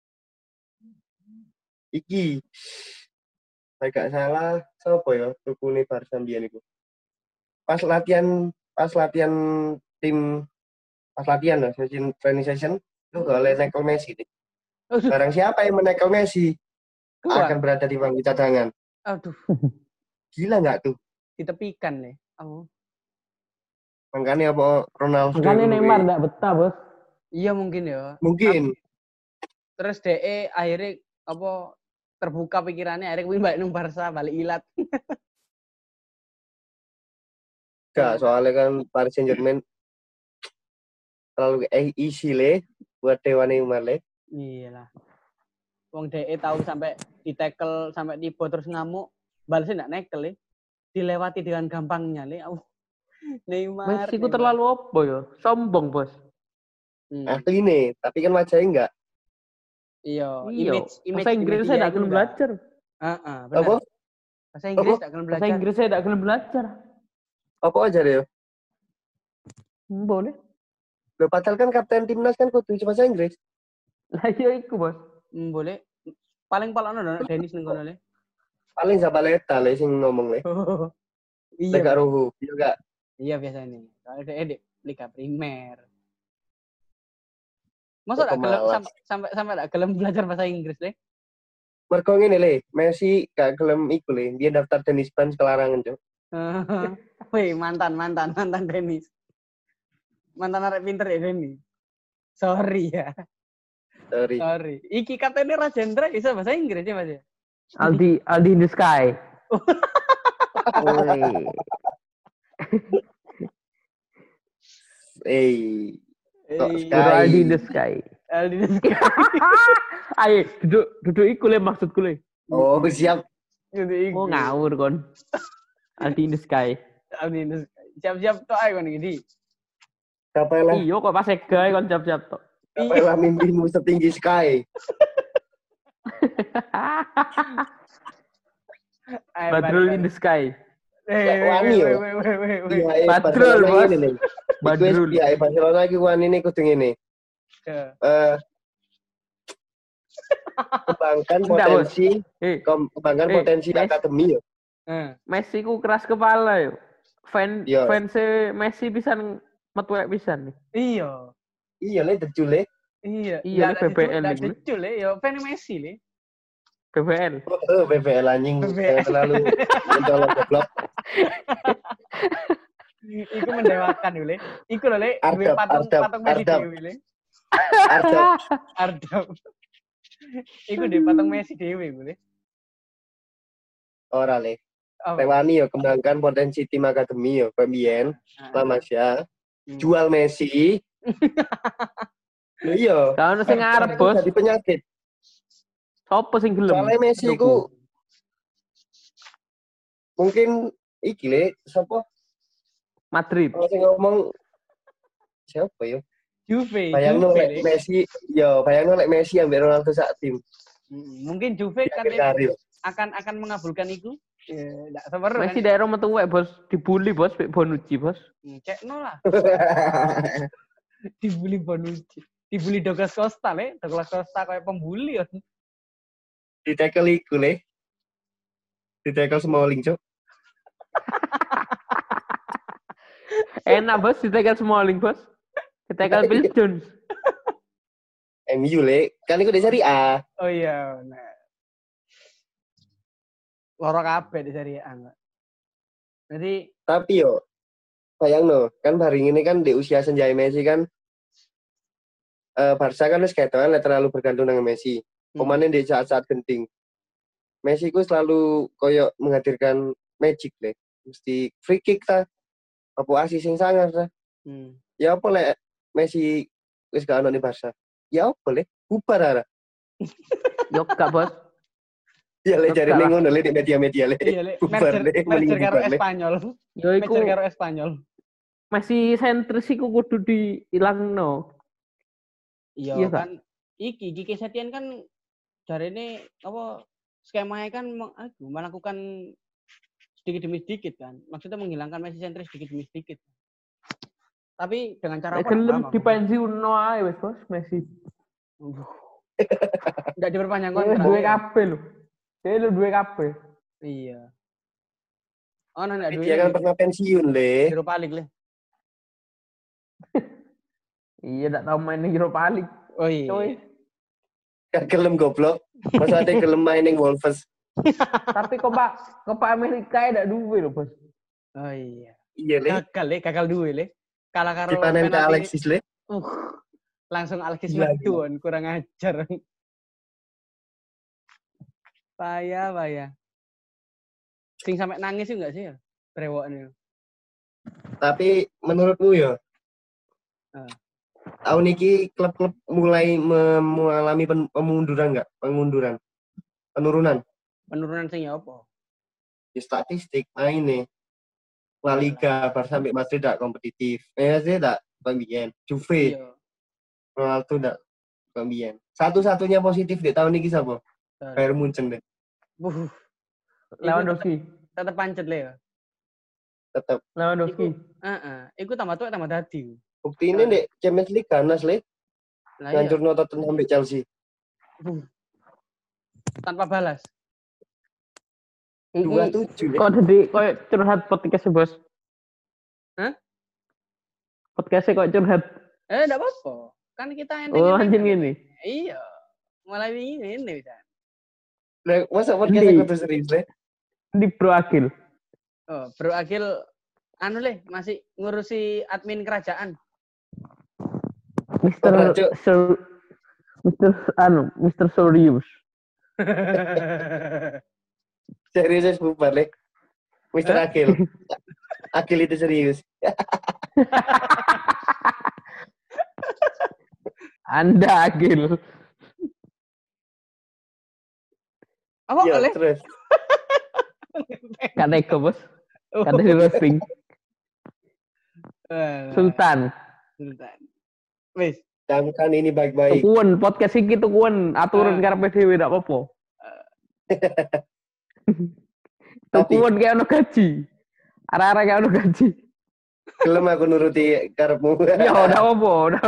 iki. Nek gak salah sapa ya tukune Barca mbiyen iku. Pas latihan pas latihan tim pas latihan lah session training session itu gak oleh nekel Messi deh. Aduh, Barang siapa yang menekel Messi keluar. akan berada di bangku cadangan. Aduh, Gila nggak tuh? ditepikan le. Oh. Makanya apa Ronaldo? Makanya dulu Neymar kuwi. ndak betah, Bos. Iya mungkin ya. Mungkin. Terus D E akhirnya apa terbuka pikirannya akhirnya kuwi balik nang Barca balik ilat. Gak, soalnya kan Paris Saint-Germain terlalu eh easy le buat Dewa Neymar le. Iyalah. Wong D E tahu sampai ditekel sampai tiba terus ngamuk, balasnya ndak nekel le. Dilewati dengan gampangnya le. Oh. Neymar. Messi ku Neymar. terlalu opo ya? Sombong, Bos. Hmm. Asli nih, tapi kan wajahnya enggak. Iya, Iya. image image Bahasa di Inggris media saya enggak itu gelem enggak. belajar. Heeh, benar. Apa? Bahasa Inggris Apa? enggak gelem Bahasa belajar. Inggris saya enggak gelem belajar. Apa aja deh? Hmm, boleh. Loh, padahal kan kapten timnas kan kudu bahasa Inggris. Lah iya iku, Bos. Hmm, boleh. Paling palakno ndak Dennis ning kono le. Paling Zabaleta le sing ngomong le. Iya. Lega Ruhu, iya enggak? Iya biasanya. Kalau dia di Liga Primer. Masa Kok enggak gelem malas? sampai sampai sampai enggak gelem belajar bahasa Inggris le? Mergo ngene le, Messi gak gelem iku le, dia daftar tenis ban sekelarangan, Cuk. Wih, mantan mantan mantan Dennis. Mantan arek pinter ya Dennis. Sorry ya. Sorry. Sorry. Iki katanya Rajendra bisa bahasa Inggris ya Mas ya? Aldi Aldi in the sky. Woi. Eh, kok Eh, Guru Sky? Aldi in the sky. Aldi in the sky. Ayo, duduk duduk iku le maksudku le. Oh, siap. Gitu iku. Oh ngawur kon. Aldi in the sky. Aldi in the sky. Siap-siap tok ae kon iki. Capailah, Iyo kok pas segae kon siap-siap tok. capailah mimpimu setinggi Sky. Badrul in the sky. Wani yo. Iya, Badrul, Bos. Badrul. Badrul. Iya, Barcelona iki wani ini kudu ngene. Eh kembangkan Enggak, Bos. potensi, Eh, kom- kembangkan Eh, potensi Mes. akademi yo. Messi ku keras kepala yo. Fan Iya. fans Messi pisan metuek pisan nih. Iya. Iya le decul le. Iya. Iya, Nggak ini B B L ada ini. decul le, yo fan Messi le. B B L. Oh, B B L anjing. B B L. Jangan terlalu mencolok goblok. Iku mendewakan yo le. Iku lho le, duwe Ardap, patung Ardap, patung Messi Ardap. dhewe le. Ardap. Ardap. Iku di patung Messi dhewe iku le. Ora le. Apa? Rewani yo kembangkan potensi tim akademi yo. Pembiyen, Ah. Lama ya. Hmm. Jual Messi. Lho iya. Kalau sing ngarep, Bos. Jadi penyakit. Sopo sing gelem? Soalnya Messi Tuku. ku mungkin iki le sapa Madrid. kalau sing ngomong siapa yo? Juve, Bayangno Juve lek le. Messi, yo bayangno lek Messi ambek Ronaldo sak tim. Hmm, Mungkin Juve Di kan akhir karir. akan akan mengabulkan itu. Ya, enggak seperu kan. Messi daerah metuwek, Bos. Dibully, Bos, Pik Bonucci, Bos. Hmm, Cekno lah. Dibully Bonucci. Dibully Douglas Costa le. Douglas Costa kayak pembuli kan. Di tackle iku le. Di tackle Smalling, Cuk. Enak, Bos, ditekel Smalling, Bos. Ditekel Phil Jones. M U le, kan iku di Serie A. Oh iya, nah. Loro kabeh di Serie A. Mbak. Jadi, Tapi yo bayangno, kan bareng ini kan di usia senjai Messi kan eh Barca kan wis ketokan lek terlalu bergantung dengan Messi. Pemainnya di saat-saat genting. Messi ku selalu koyo menghadirkan magic le. Mesti free kick ta. Apa asis sing sangar ta. hmm. Ya apa lek Messi wis gak ono ning Barca. Ya apa le? Bubar ara. Yo gak, Bos. Ya le Tetap jarine lah. ngono le di media-media le. Iya, le. Bubar Merger, le, mending merger karo bubar le. Espanyol. Yo iku Merger karo Espanyol. Messi sentris iku kudu diilangno. Iya Iya, kan. Iki Kiki Setien kan jarine apa skemanya kan meng- aduh, melakukan sedikit demi sedikit kan. Maksudnya menghilangkan Messi sentris sedikit demi sedikit. Tapi dengan cara Lek apa? gelem Apa, dipensiunno ae wis, Bos, Messi. Enggak diperpanjang Kontrak. kontrak. Duwe kabeh lho. Dia lu duwe kabeh. Iya. Oh, nah, enggak Dia kan pernah pensiun le. Europa League le. Iya, ndak tau main ning Europa League. Oh iya. Coy. Gak gelem goblok. Masa ada gelem main ning Wolves. Tapi Copa Copa Amerika ndak duwe lho, Bos. Oh iya. Iya le. Gagal le, gagal duwe le. Kalah karo Dipanen ke penalti. Alexis le. Uh, langsung Alexis Gila, Medun, kurang ajar. Payah, payah. Sing sampai nangis sih enggak sih ya? Brewoknya. Tapi menurutmu ya, Ah. tahun ini klub-klub mulai mem- mengalami pen- pemunduran nggak? Pemunduran, penurunan. Penurunan sing ya apa? Di statistik main nih. La Liga, Barca sampai Madrid tidak kompetitif. Eh sih tidak pembiyen. Juve, Iya. Ronaldo tidak pembiyen. Satu-satunya positif di tahun ini siapa? Betul. Bayern Munchen deh. Buh, Lewandowski. tetep pancet le ya. Tetap. Lewandowski. Heeh, iku tambah tuh tambah dadi. Bukti ini deh Champions League ganas le. Lah iya. Ngancur Tottenham sampai Chelsea. Buh. Tanpa balas. dua tujuh Kok jadi kok curhat podcast bos? Hah? Podcastnya kok curhat? Eh, enggak apa-apa. Kan kita enteng. Oh anjing gini. Iya. Mulai ini ini bisa. Lah, masa podcastnya kudu serius le? Di Bro Agil. Oh, Bro Agil anu le masih ngurusi admin kerajaan. Mister Oh, Cuk. Sir, Mister anu, Mister Sorius. Serius bubar le. Mister Hah? Akil. Akil itu serius. Anda Agil. Apa Iya, oleh? terus. Kata Eko bos. Kata di roasting. Sultan. Sultan. Wis. Camkan ini baik-baik. Tukuan podcast iki tukuan aturan Ah. karepe dhewe ndak apa-apa. Tapi Tukuan kayak ono gaji. Arah-arah kayak ono gaji. gelem aku nuruti karepmu. Ya udah apa, udah.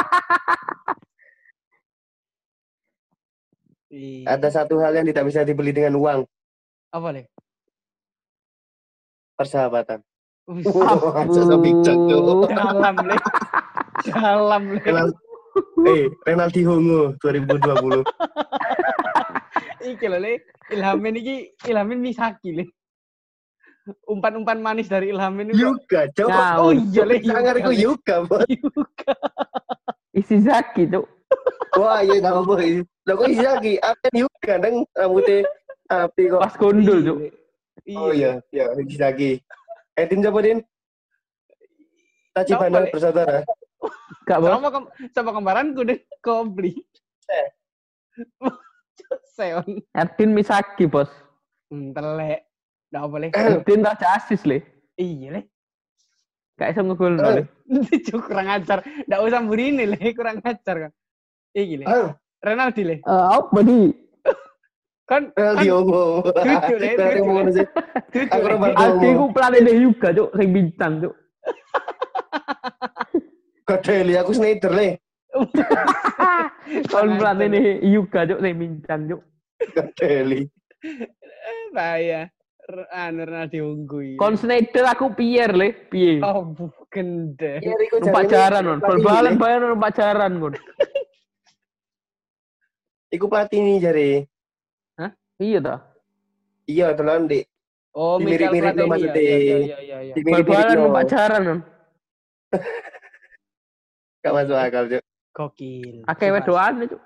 Iya. Ada satu hal yang tidak bisa dibeli dengan uang, Apa le? persahabatan. Wis. Masa bijak, Cuk. Dalam le. Dalam le. Renal- Eh, Ronaldinho dua ribu dua puluh. Iki lho le. Ilhamin iki Ilhamin Misaki le. Umpan-umpan manis dari Ilhamin itu. Yuga, Cuk. Nah, Oh iya le. Sangar iku Yuga, Bos. Isi Zaki tuh. Wah, iya tak apa iki. Lah kok Izaki, apa Yuga nang rambutnya api kok. Pas gondol tuh. Oh iya, iya Izaki. Edin siapa, Din? Tachibana Siapa, Le? bersaudara. Gak bos. Sama kem sama kembaranku deh Kobli. Eh. Seon. Erdin Misaki bos. Hmm, telek. Nggak apa le. Erdin raja asis le. Iya le. Gak bisa ngegol no, le. Cuk, kurang ajar. Nggak usah burini le, kurang ajar kan. Iki le. Ah, Renaldi le. Eh, apa di? Kan Ronaldinho. Tujuh, Le, Dari tujuh, mana Le. sih? Tujuh, Aku Le. Ronaldinho. Aldi ku pelatih juga cuk, sing bincang cuk. Kadeli aku Snyder le. Kon pelatih juga cuk, sing bincang cuk. Kadeli. Bahaya. R- Anu Renaldi unggul. Kon Snyder aku Pierre le, piye? Oh, bukan deh. Iya, Riko Numpak jarene jaran kon, pelatih bal-balan ini, Le. bayar numpak jaran kon. Iku pelatih ini jare. Iya ta. Iya, tenan, Dik. Oh, Michael Dimirip-mirip Platini. lo maksudnya. Iya, iya, iya, iya, iya. Dimirip-mirip Bal-balan lo. numpak jaran kon. Gak masuk akal, Cuk. Gokil. Akeh wedoan cuk.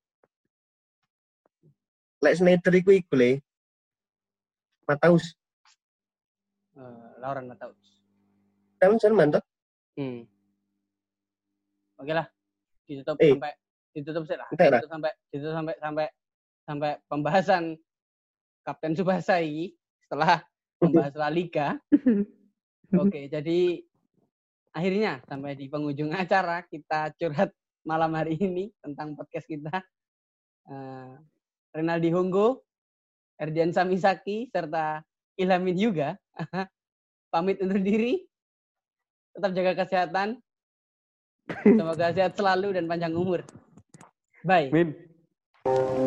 Lek Snyder iku iku le. Mataus. Eh, Lauren Mataus. Kan Jerman toh? Hmm. Oke lah. Ditutup Eh. sampai ditutup sih lah. Entar lah. Ditutup sampai ditutup sampai sampai sampai pembahasan Kapten Tsubasa ini setelah membahas La Liga. Oke, jadi akhirnya sampai di penghujung acara kita curhat malam hari ini tentang podcast kita. Uh, Renaldi Honggo, Erdian Samisaki, serta Ilhamin Yuga pamit undur diri. Tetap jaga kesehatan. Semoga sehat selalu dan panjang umur. Bye. Min.